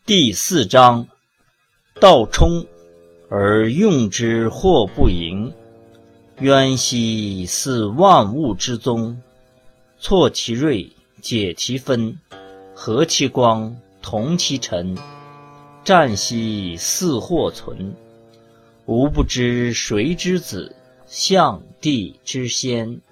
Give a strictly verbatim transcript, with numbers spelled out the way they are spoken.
第四章，道冲而用之或不盈，渊兮似万物之宗。错其锐，解其分，和其光，同其尘。战兮似或存，吾不知谁之子，象帝之先。